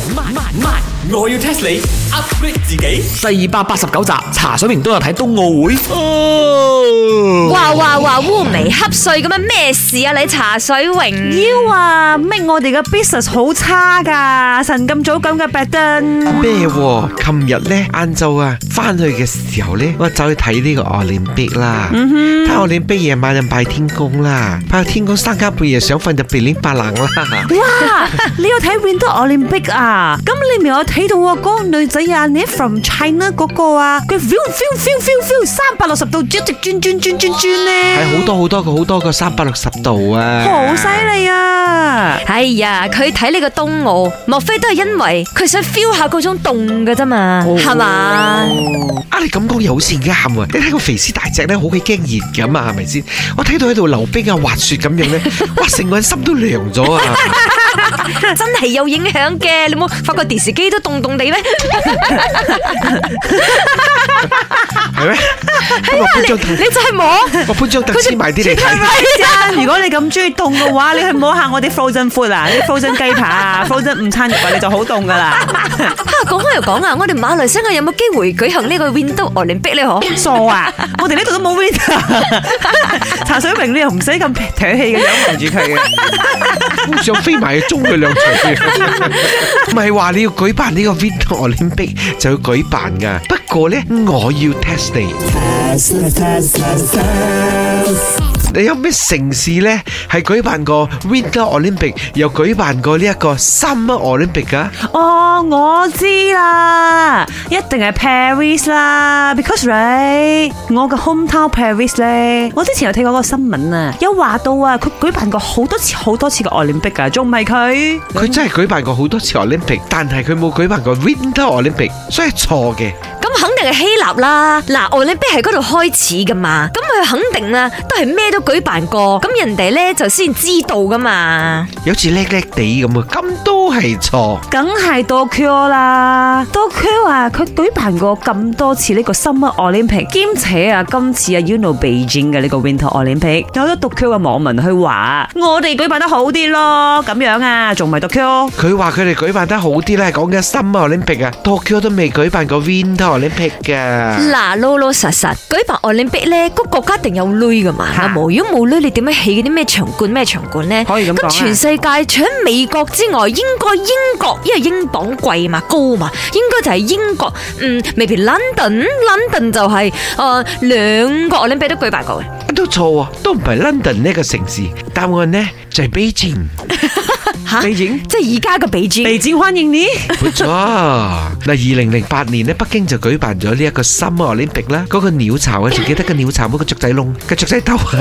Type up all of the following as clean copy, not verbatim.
我要 test 你 upgrade 自己。 第289集，茶水明都有睇冬奧會。 哇烏眉瞌睡咁樣咩事啊？你茶水榮妖啊，咩我哋嘅 business 好差噶，晨咁早咁嘅 bad 咩？琴日咧晏晝啊，翻去嘅時候咧，我走去睇呢個奧林匹克啦。睇奧林匹克夜晚就拜天公啦，拜天公三更半夜想瞓就噼哩啪啷啦。 哇！你有睇 Winter Olympic 啊？咁你咪有睇到啊？嗰個女仔啊，你 from China 嗰個啊，佢 feel 360度一直轉咧， 係好多個360度啊！ 好犀利啊！ 哎呀，佢睇呢個冬奧，莫非都係因為佢想 feel 下嗰種凍嘅啫嘛？係嘛？ 啊，你咁講又好似啱啊！你睇個肥屍大隻咧，好鬼驚熱咁啊，係咪先？我睇到喺度溜冰啊、滑雪咁樣咧，哇，成個人心都涼咗啊！ 真係有影響嘅，你冇發覺電視機都凍凍地咩？ 係咩？ 你就係摸， 我搬張凳黐埋啲嚟睇。 如果你咁中意凍嘅話，你去摸下我啲 frozen food 啊，啲 frozen 雞扒啊 ，frozen 午餐肉啊，你就好凍噶啦。 講開又講啊，我哋馬來西亞有冇機會舉行呢個 Winter Olympic 咧？嗬， 傻啊！我哋呢度都冇 winter。茶水榮你又唔使咁唾氣嘅樣望住佢嘅， 想飛埋去中佢兩錘。唔係話你要舉辦呢個 Winter Olympic 就要舉辦噶，不過咧我要 test 你。你有咩城市咧係舉辦過 Winter Olympic 又舉辦過呢一個 Summer Olympic 噶？ 哦，我知啦，一定係 Paris 啦 ，because 我嘅 hometown Paris 咧，我之前有睇過嗰個新聞啊，有話到啊，佢舉辦過好多次嘅 Olympic 啊，仲唔係佢？ 佢真係舉辦過好多次 Olympic， 但係佢冇舉辦過 Winter Olympic， 所以係錯嘅。 咁肯定係希臘啦，嗱，Olympic係嗰度開始噶嘛，咁佢肯定啦，都係咩都舉辦過，咁人哋咧就先知道噶嘛， 有似叻叻地咁啊，咁都係錯， 梗係 Tokyo 啦 ，Tokyo 啊，佢舉辦過咁多次呢個 Summer Olympic， 兼且啊，今次啊 you know Beijing 嘅呢個 Winter Olympic， 有咗 Tokyo 嘅網民去話，我哋舉辦得好啲咯，咁樣啊，仲唔係 Tokyo？ 佢話佢哋舉辦得好啲咧，講緊 Summer Olympic 啊 ，Tokyo 都未舉辦過 Winter Olympic 噶。 嗱，老老實實舉辦 Olympic 咧，個國家一定有鐳噶嘛，如果冇鐳，你點樣起嗰啲咩場館咧？ 可以咁講啊。 咁全世界除咗美國之外，應該英國，因為英鎊貴嘛，高嘛，應該就係英國。maybe London 就係兩個 Olympic 都舉辦過嘅。 都錯啊，都唔係 London 呢個城市，答案呢就係 Beijing。 北京即係而家嘅北京。 北京歡迎你。 冇錯，嗱，2008年咧，北京就舉辦咗呢一個 Summer Olympic 啦。嗰個鳥巢啊，仲記得個鳥巢冇個雀仔窿、個雀仔竇啊。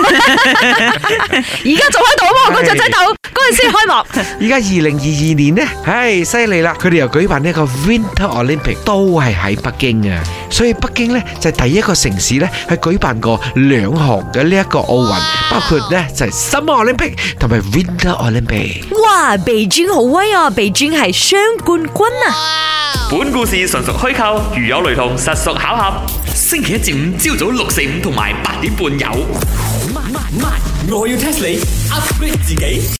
而家仲喺度啊嘛，個雀仔竇嗰陣先開幕。 而家2022年呢，唉，犀利啦！佢哋又舉辦呢一個 Winter Olympic， 都係喺北京啊。所以北京咧就係第一個城市咧係舉辦過兩項嘅呢一個奧運，包括咧就係 Summer Olympic 同埋 Winter Olympic。 哇，北京好威啊！北京係雙冠軍啊！ 本故事純屬虛構，如有雷同，實屬巧合。星期一至五朝早6、4、5同埋8點半有。我要 test 你 upgrade 自己。